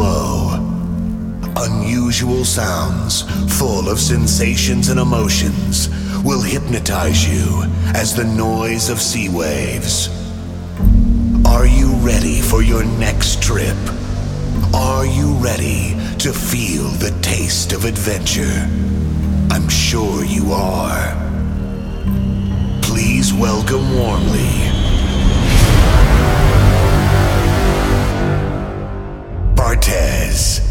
flow. Unusual sounds, full of sensations and emotions, will hypnotize you as the noise of sea waves. Are you ready for your next trip? Are you ready to feel the taste of adventure? I'm sure you are. Please welcome warmly Bartez.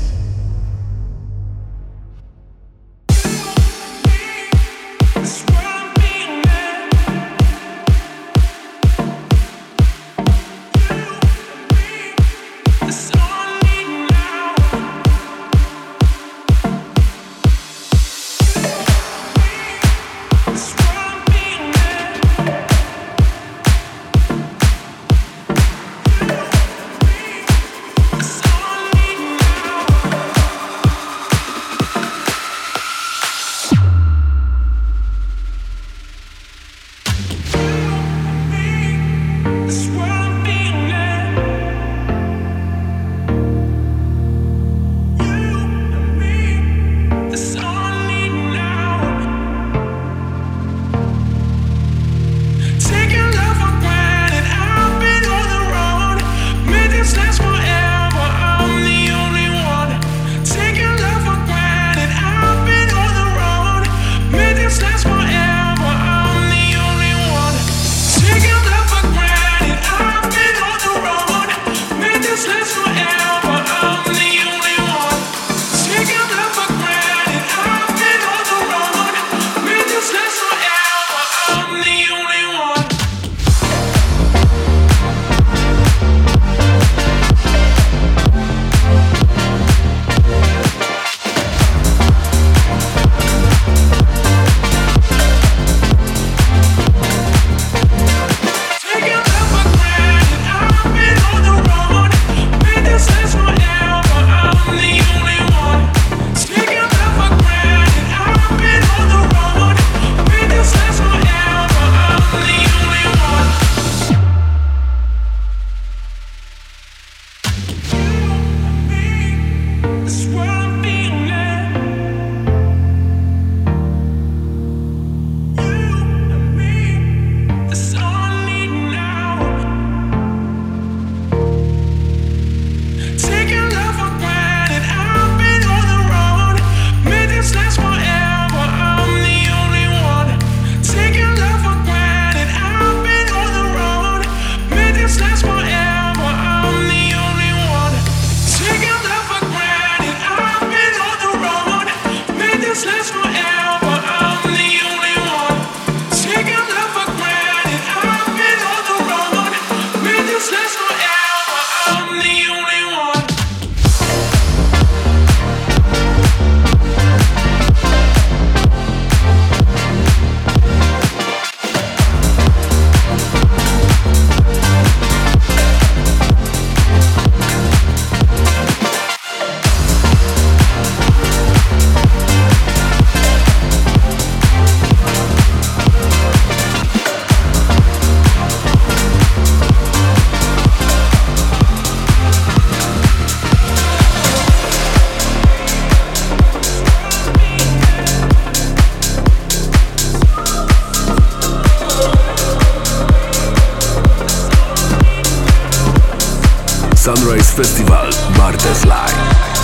Sunrise Festival, Bartez Live.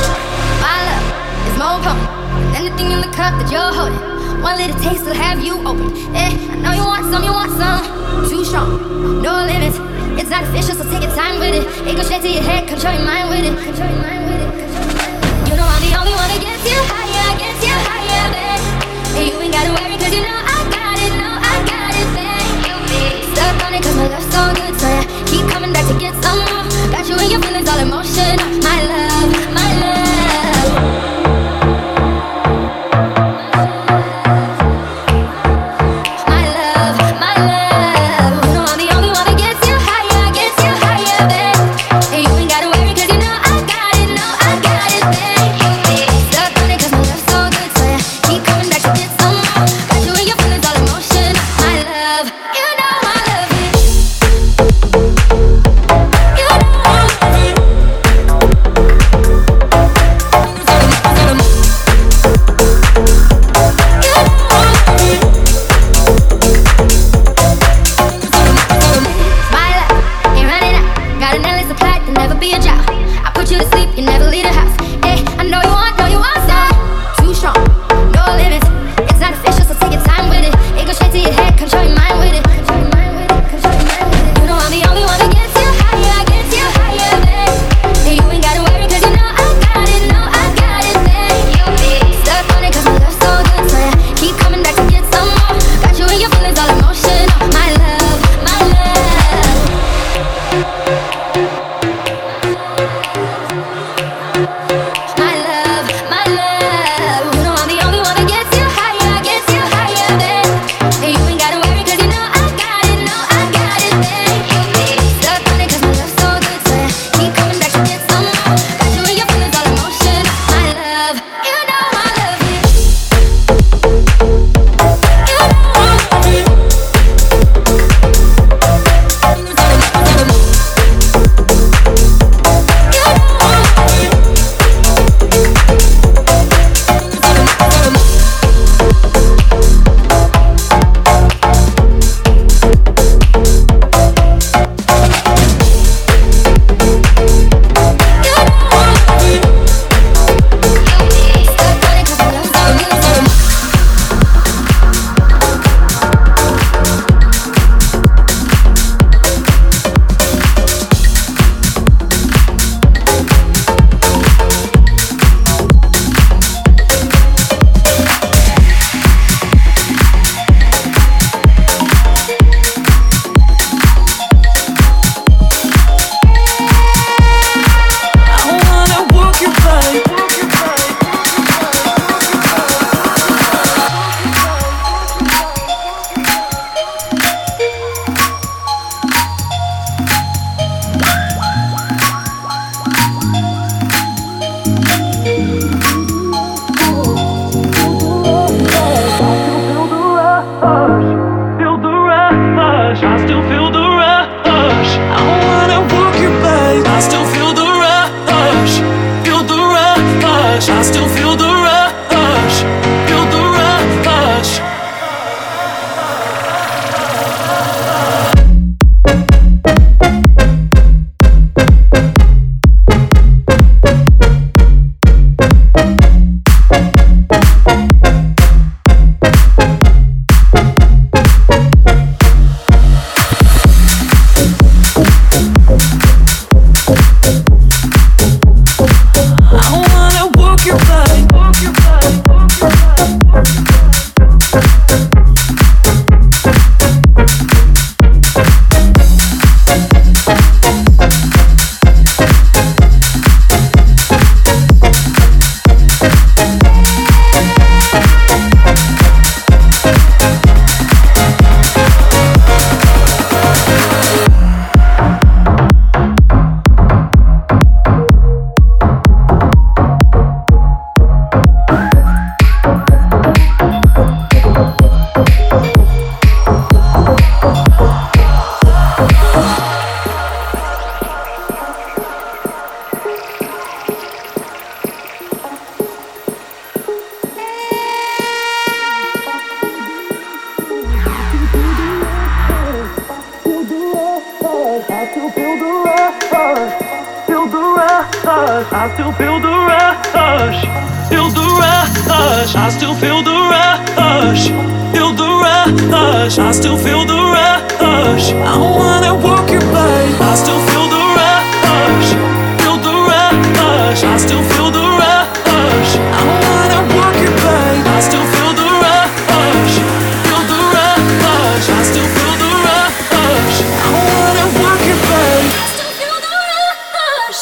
My love is more potent than anything in the cup that you're holding. One little taste will have you open. I know you want some. Too strong, no limits. It's not official, so take your time with it. It goes straight to your head, control your mind with it. You know I'm the only one that gets you higher, babe. And you ain't gotta worry, cause you know I got it, babe. You be stuck on it, cause my love's so good, so yeah, keep coming back to get some more. Got you in your feelings, all emotion, my love, my love. No rush. I still feel the rush. Feel the rush. I still feel the rush, feel the rush. I still feel the rush, feel the rush. I still feel the rush. I wanna walk your body. I still feel the rush, feel the rush. I still feel the rush. I wanna walk your body. I still feel the rush, feel the rush. I still feel the rush. I wanna walk your body. I still feel the rush.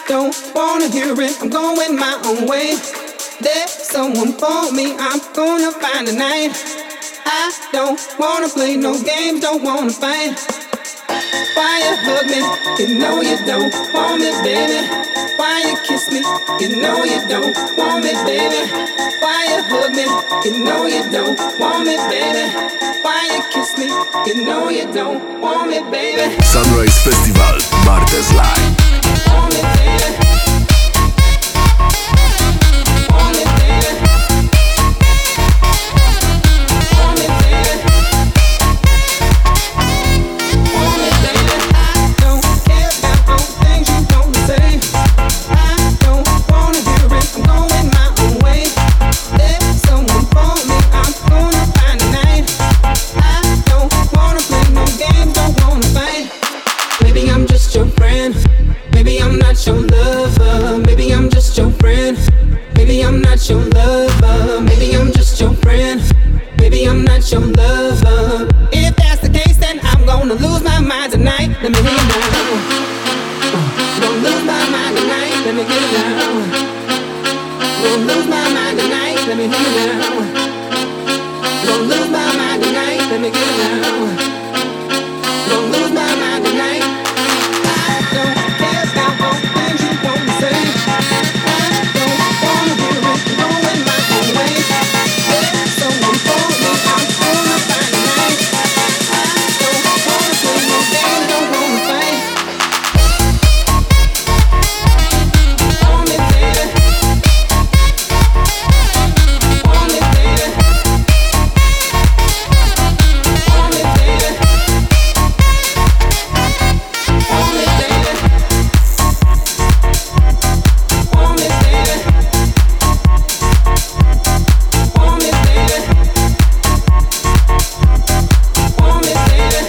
don't wanna hear it, I'm going my own way. There's someone for me, I'm gonna find tonight. I don't wanna play no games, don't wanna fight. Why you hug me? You know you don't want me, baby. Why you kiss me? You know you don't want me, baby. Why you hug me? You know you don't want me, baby. Why you kiss me? You know you don't want me, baby. Sunrise Festival, Bartes Live. Want me, baby. Want me, baby. Want me, baby. Want me, baby. I don't care about all the things you gonna say. I don't wanna hear it, I'm going my own way. There's someone for me, I'm gonna find tonight. I don't wanna play no games, don't wanna fight. Maybe I'm just your friend. Maybe I'm not your lover. Maybe I'm just your friend. Maybe I'm not your lover. Maybe I'm just your friend. Maybe I'm not your lover. If that's the case, then I'm gonna lose my mind tonight. Let me hear it now. Gonna lose my mind tonight. Let me get it now. Gonna lose my mind tonight. Let me hear it now. Gonna lose my mind tonight. Let me get it now. Gonna lose my mind tonight. I don't care about all the things you wanna say. I don't wanna hear it, going my own way. There's someone for me, I'm gonna find tonight. I don't wanna play no games, don't wanna fight. Want me, baby. Want me, baby. Want me, baby. Want me, baby. Want me, baby. Want me, baby. Want me, baby.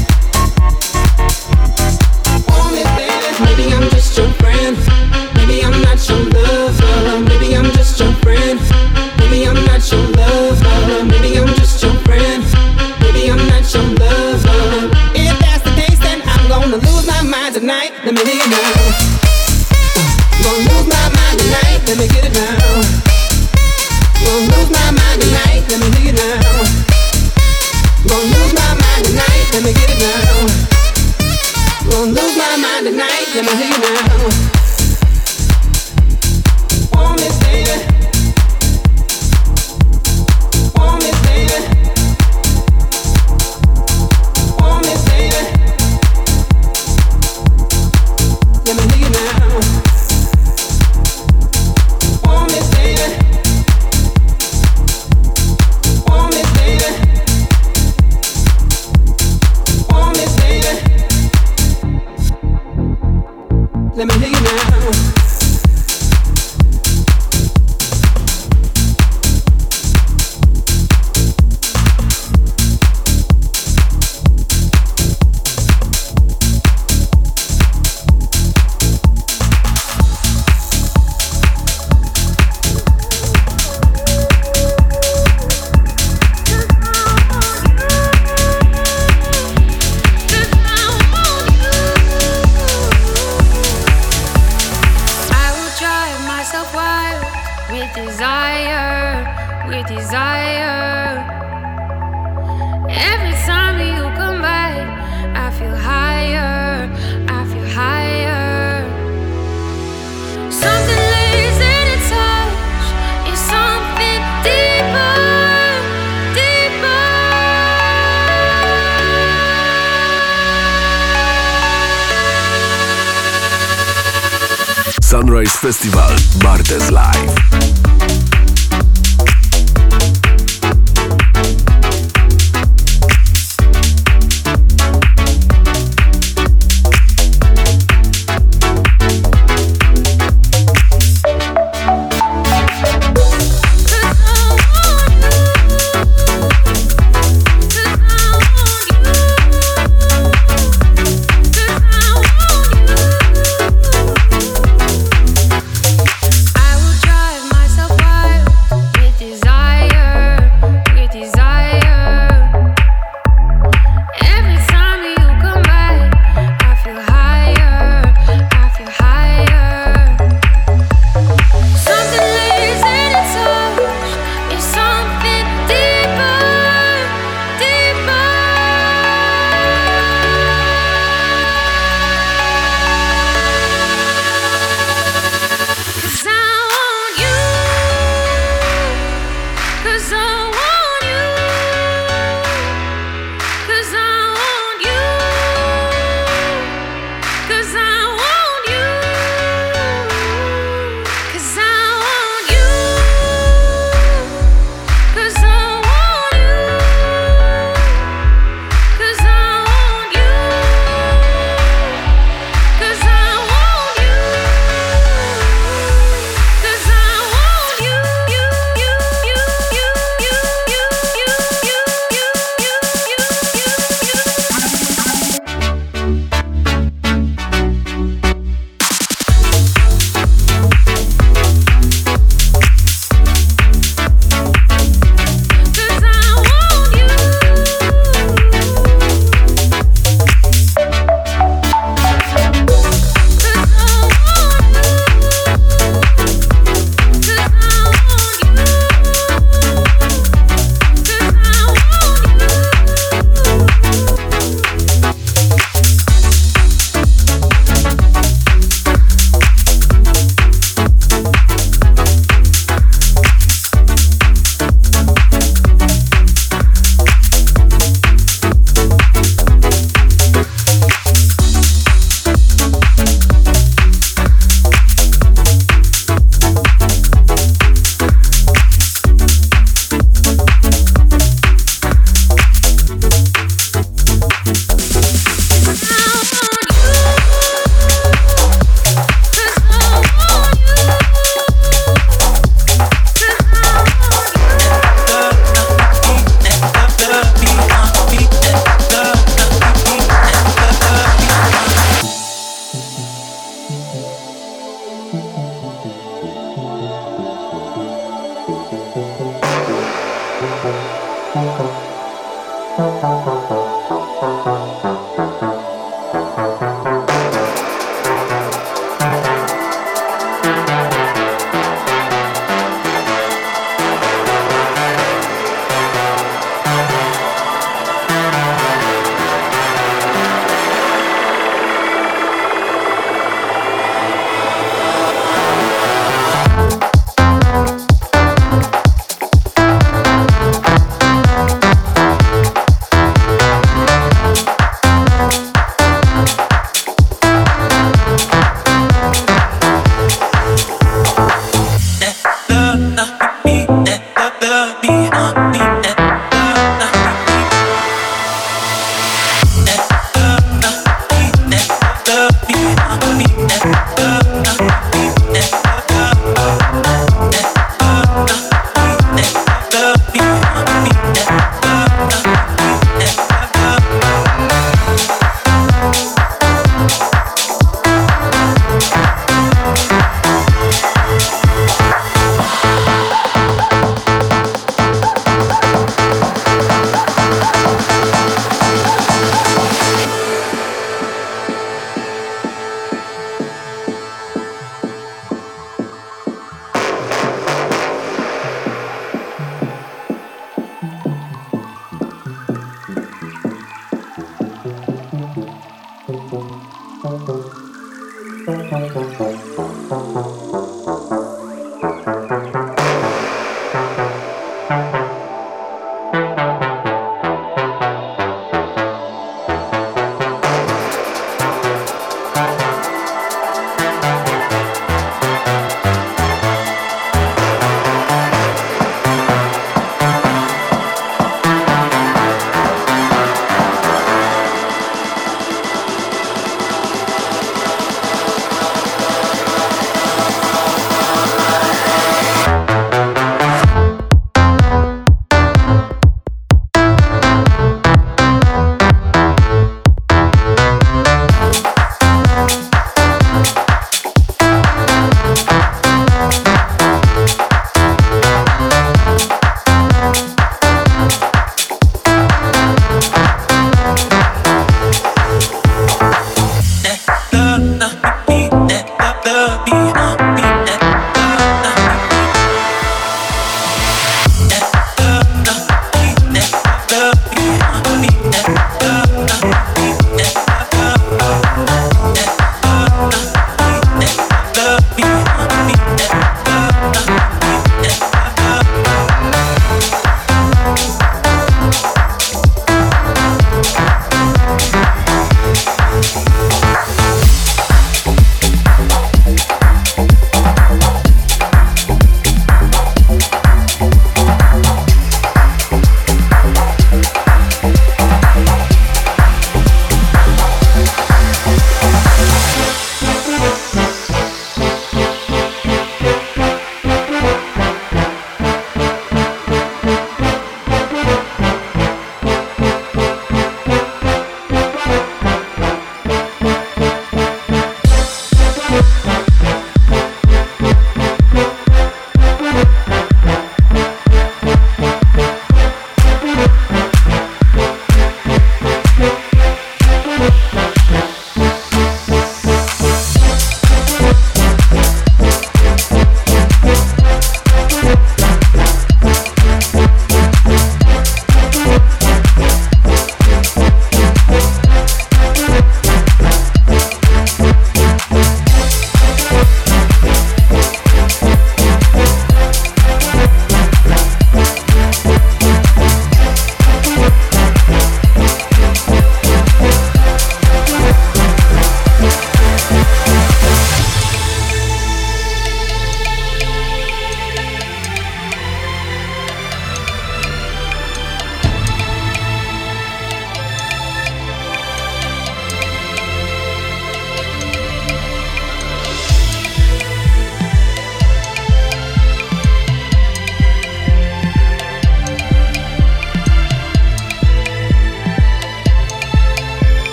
Want me, baby. Maybe I'm just your friend. Maybe I'm not your lover. Maybe I'm just your friend. Maybe I'm not your lover. Maybe I'm just your friend. Maybe I'm not your lover. If that's the case, then I'm gonna lose my mind tonight. Let me hear it now. Gonna lose my mind tonight. Let me get it now. Gonna lose my mind tonight. Let me hear it now. Gonna lose my mind tonight. Let me get it now. Gonna lose my mind tonight. Let me hear it now. Want me, baby. Want me, baby. Want me, baby. Let me hear you now. Want me, baby. Want me, baby. Want me, baby. Let me hear you now. I will drive myself wild with desire, with desire. Every time you come by, I feel higher, I feel higher. Something lays in a touch, it's something deeper, deeper. Sunrise Festival, Bartes Live. I will drive myself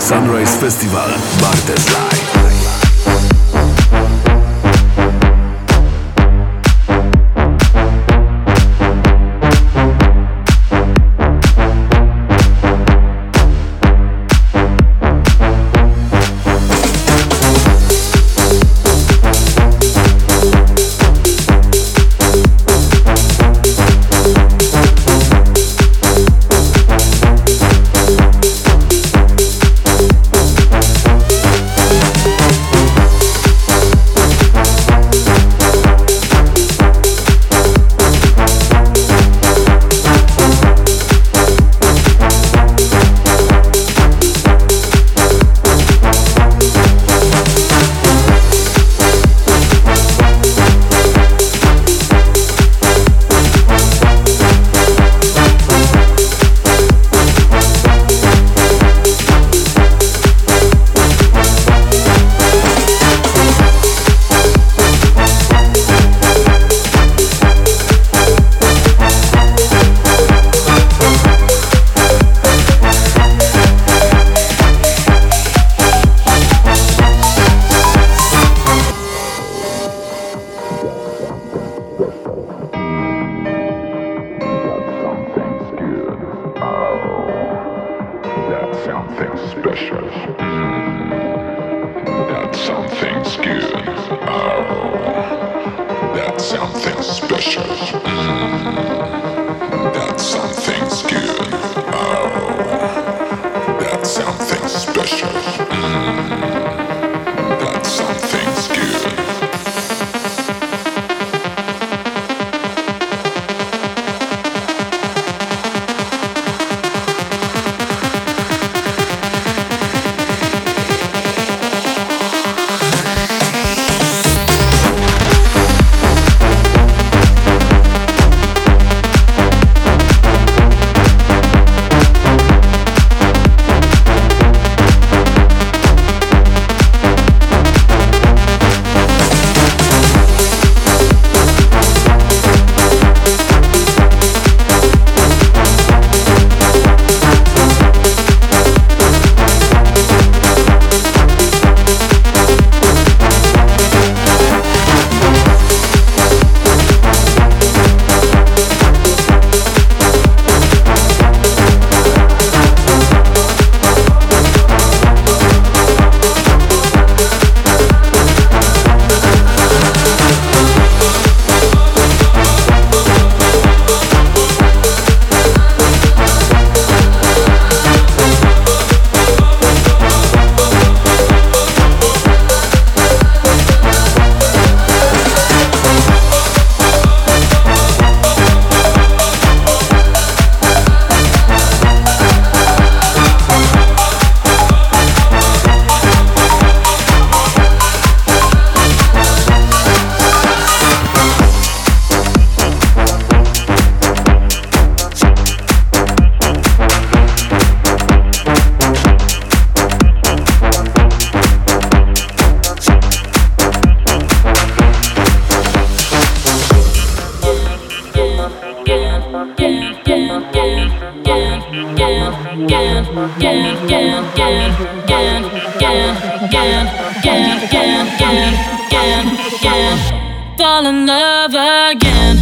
Sunrise Festival Bartes Live. Fall in love again.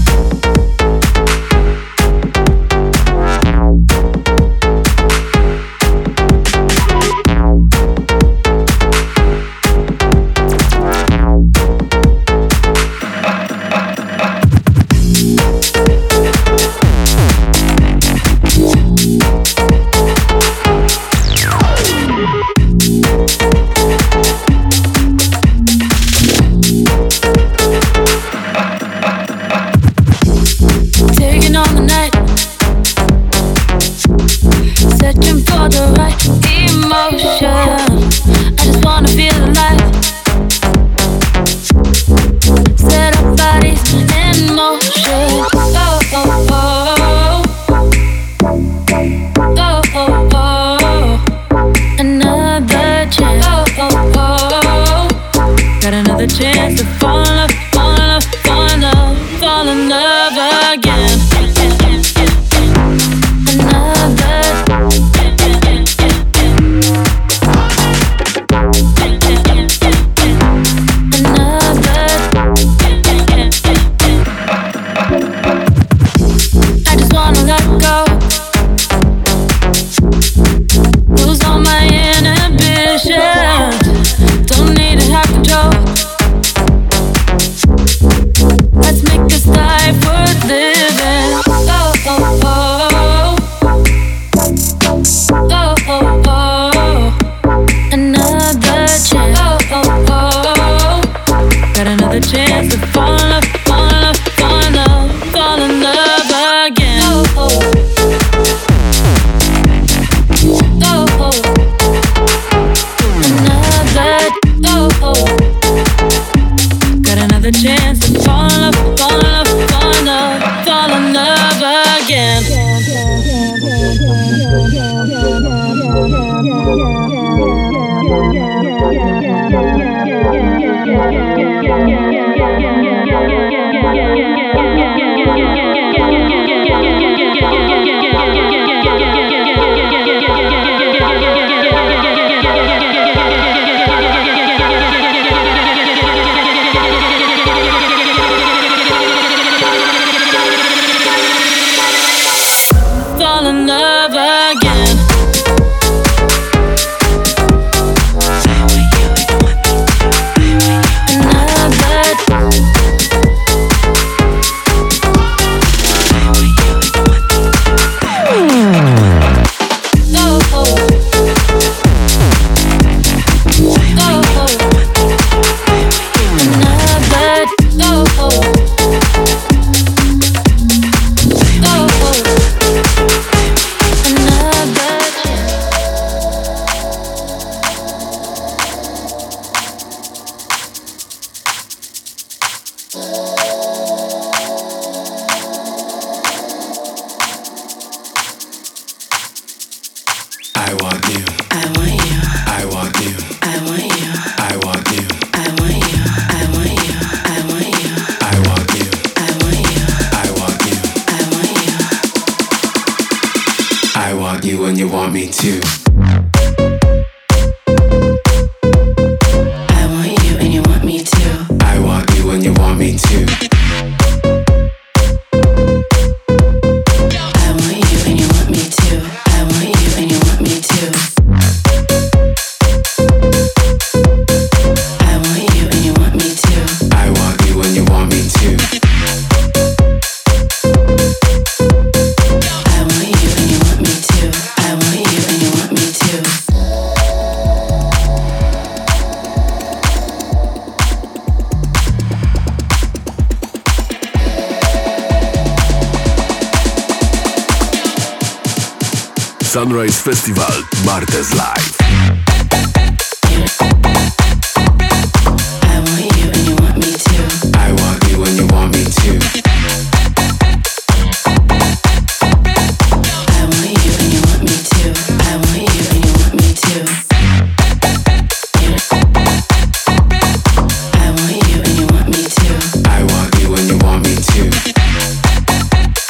Sunrise Festival Bartes Live.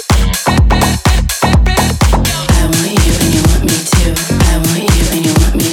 You and you want me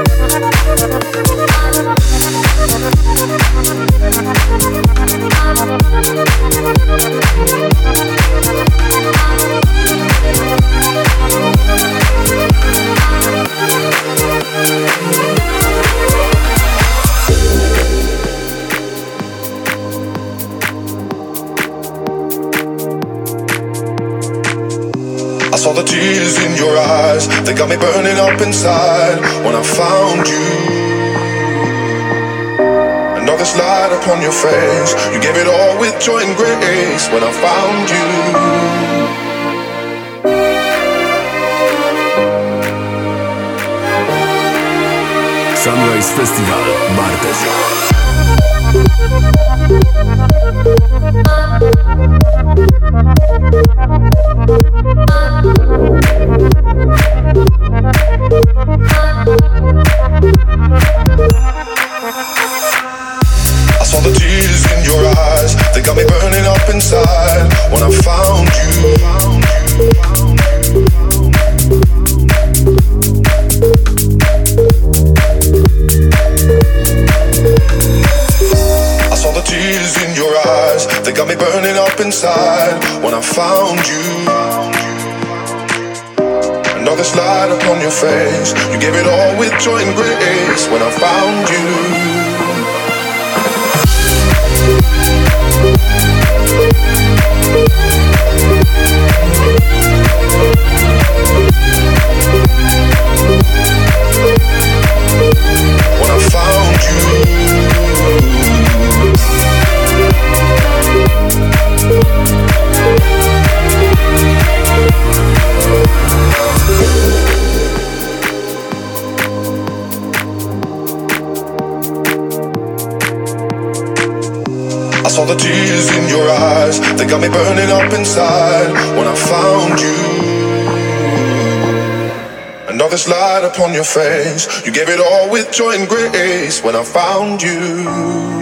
Saw the tears in your eyes, they got me burning up inside. When I found you, another light upon your face, you gave it all with joy and grace. When I found you, Sunrise Festival, Bartes. I saw the tears in your eyes, they got me burning up inside. When I found you, I saw the tears in your eyes, they got me burning up inside. When I found you, another light upon your face, you gave it all with joy and grace. When I found you, when I found you, I saw the tears in your eyes, they got me burning up inside. When I found you, another light upon your face, you gave it all with joy and grace. When I found you,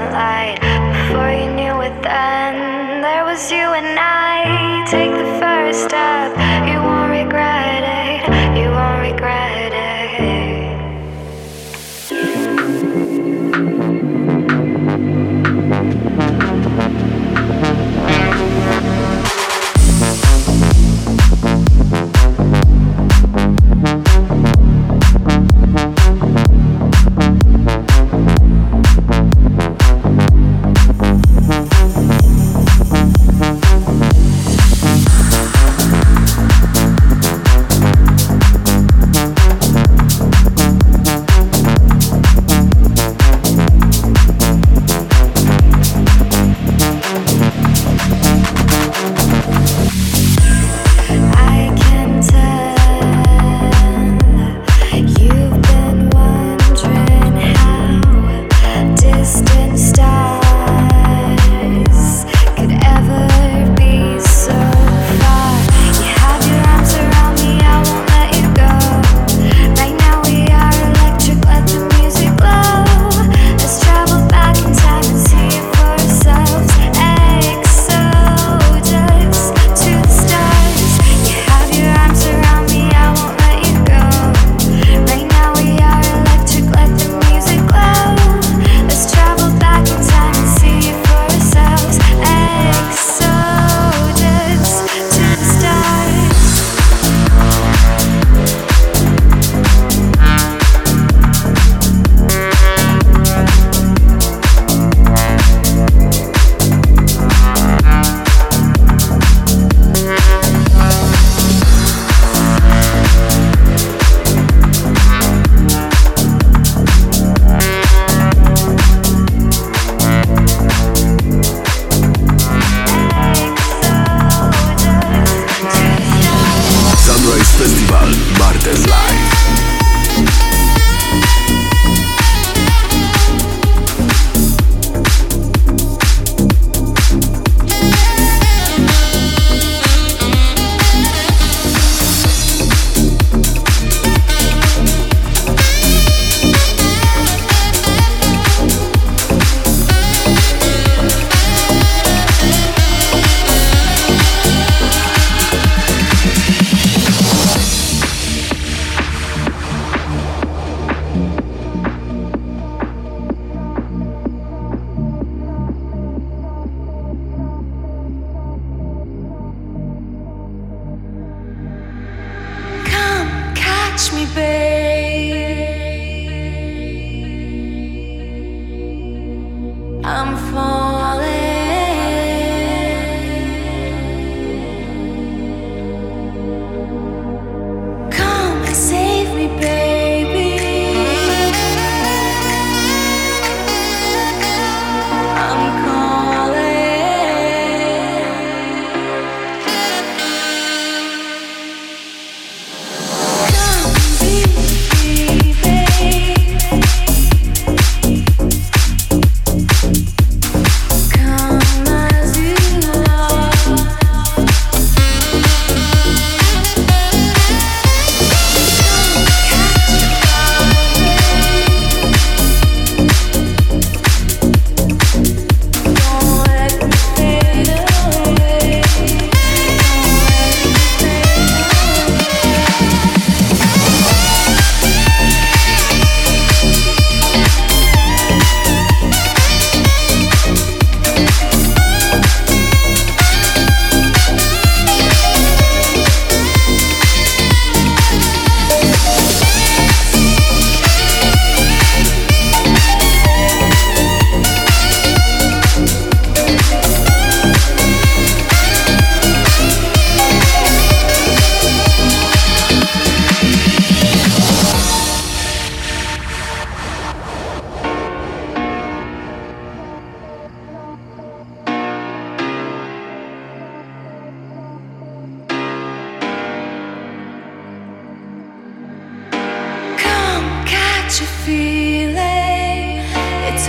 light. Before you knew it then, there was you and I. Take the first step, you won't regret it, you won't regret it. What you feeling? It's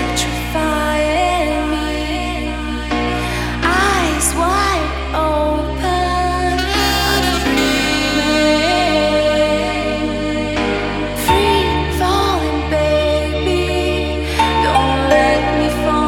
electrifying me. Eyes wide open, I'm dreaming. Free falling, baby. Don't let me fall.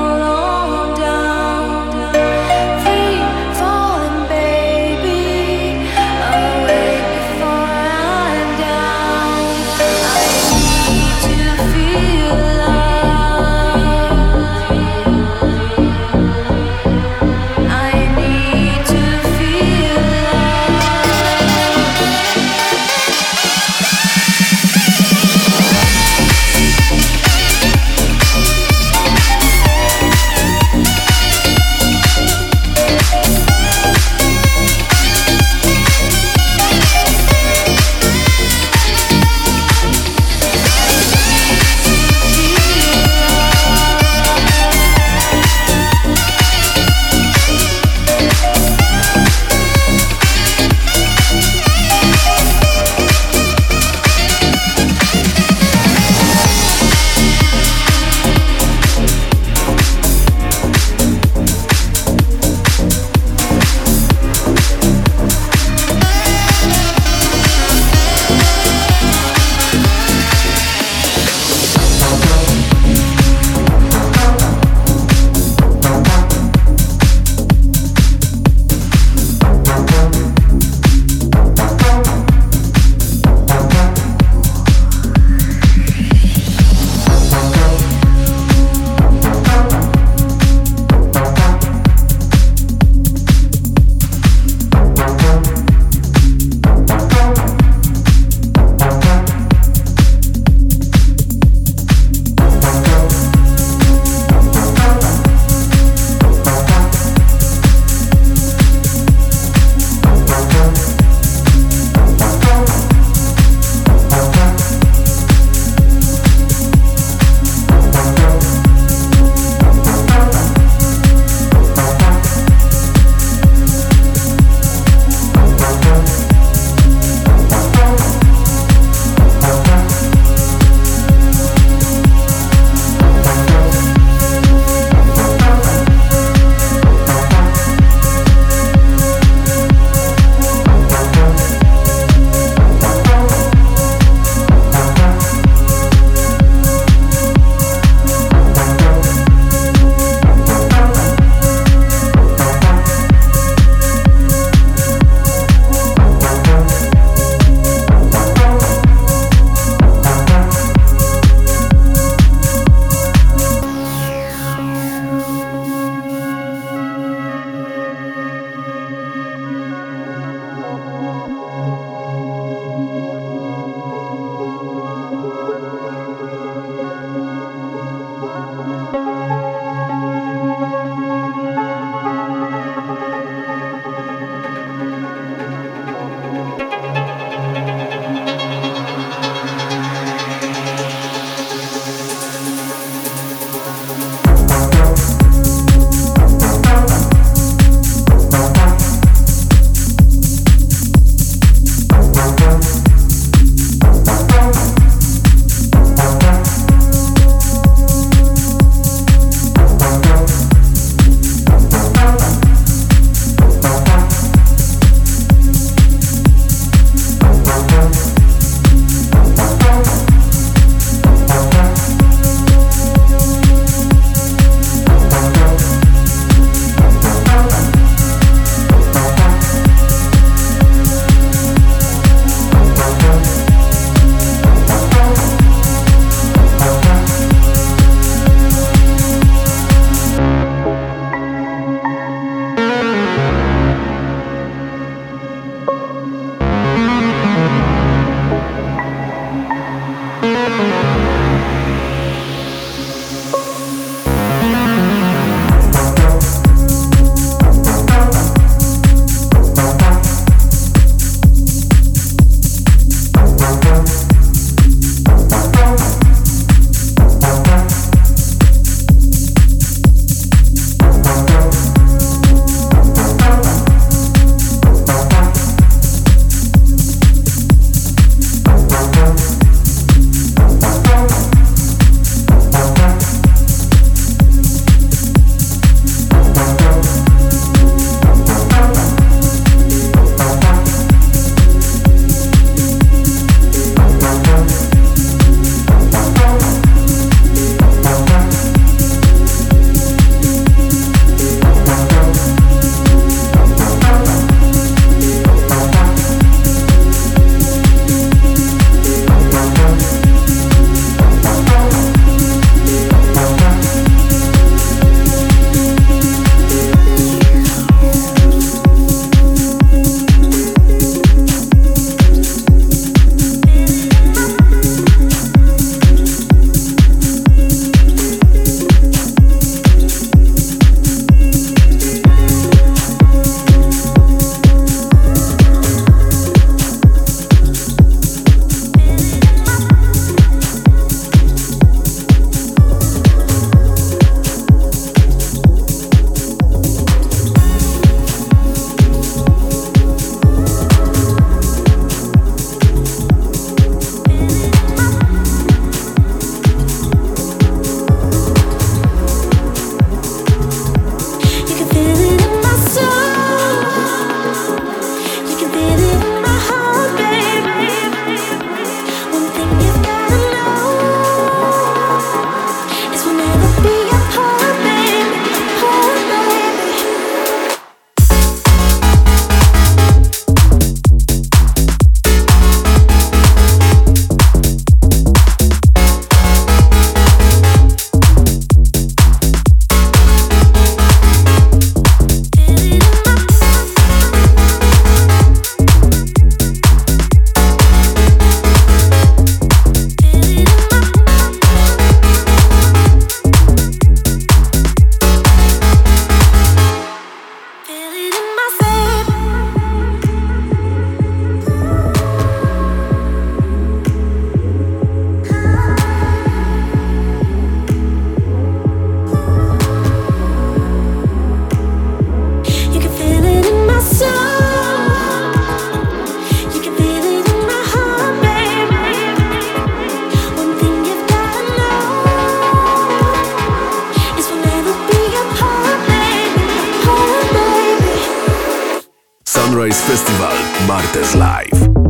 Sunrise Festival Bartes Live.